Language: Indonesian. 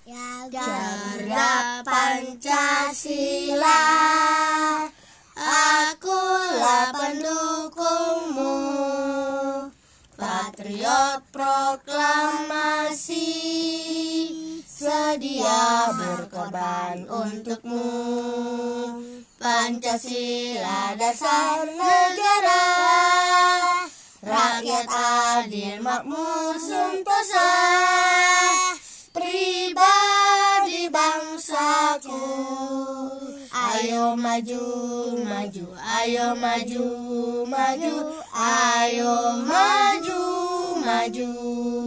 Jaga Pancasila, akulah pendukungmu. Patriot proklamasi, sedia berkorban untukmu. Pancasila dasar negara, rakyat adil makmur sentosa. Pribadi bangsaku, ayo maju, maju, ayo maju, maju, ayo maju, maju.